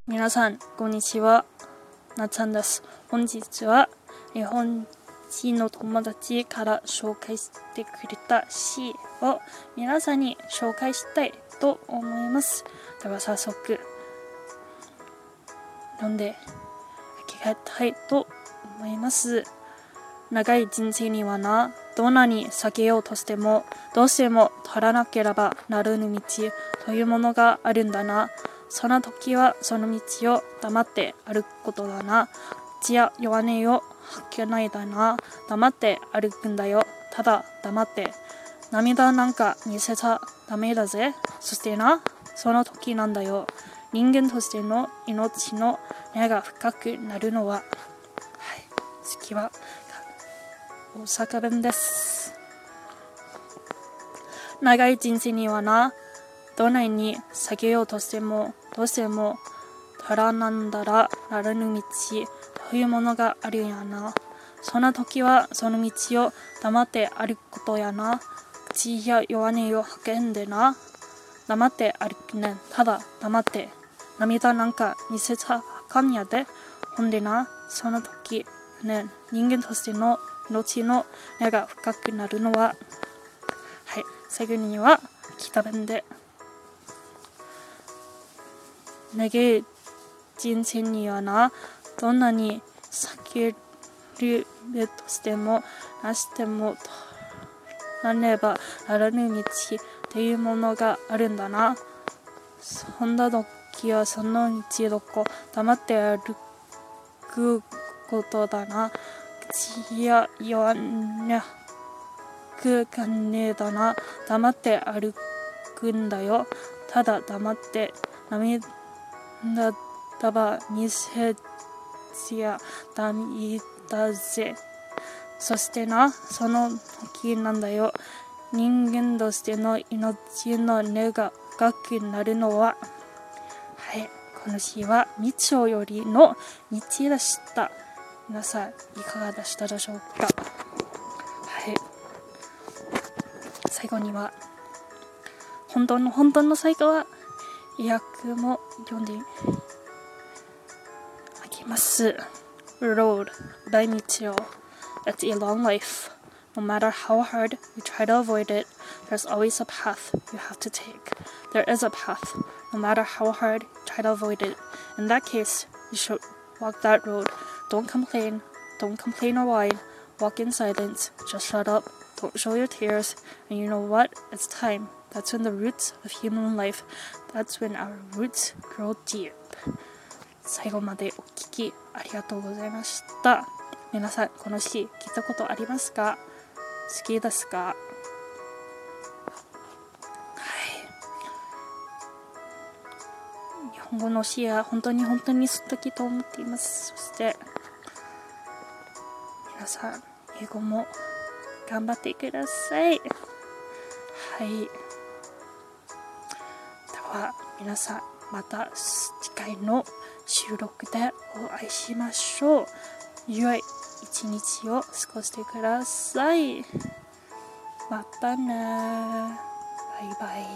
皆さんこんにちは、なっちゃんです。本日は日本人の友達から紹介してくれた詩を皆さんに紹介したいと思います。では早速読んでいきたいと思います。長い人生にはな、どんなに避けようとしてもどうしても取らなければならぬ道というものがあるんだな。その時はその道を黙って歩くことだな。口や弱音を吐けないだな。黙って歩くんだよ。ただ黙って。涙なんか見せちゃダメだぜ。そしてな、その時なんだよ。人間としての命の根が深くなるのは。はい、次は大阪弁です。長い人生にはな、どんなに避けようとしてもどうしても取らなんだらならぬ道というものがあるやな。そんな時はその道を黙って歩くことやな。口や弱音を吐けんでな。黙って歩くねん。ただ黙って。涙なんか見せちゃあかんやで。ほんでな、その時ね、人間としての命の根が深くなるのは。はい、最後には北弁で。長い人生にはな、どんなに避けるとしてもなしてもなればならぬ道というものがあるんだな。そんな時はその道どこ黙って歩くことだな。口や弱音くかねえだな。黙って歩くんだよ。ただ黙って。涙ば見せちやだめだぜ。そしてな、その時なんだよ。人間としての命の根が深くなるのは。はい、この詩はみちょよりの道でした。皆さんいかがでしたでしょうか。はい、最後には本当の最後は意訳も読んであげます。 Road by Michio. It's a long life. No matter how hard you try to avoid it, there's always a path you have to take. There is a path, no matter how hard you try to avoid it. In that case, you should walk that road. Don't complain or whine. Walk in silence, just shut up, don't show your tears, and you know what? It's time. That's when the roots of human life, that's when our roots grow deep. 最後までお聞きありがとうございました。皆さんこの詩聞いたことありますか？好きですか？はい、日本語の詩は本当に素敵と思っています。そして皆さん英語も頑張ってください。はい、では皆さんまた次回の収録でお会いしましょう。良い一日を過ごしてください。またね。バイバイ。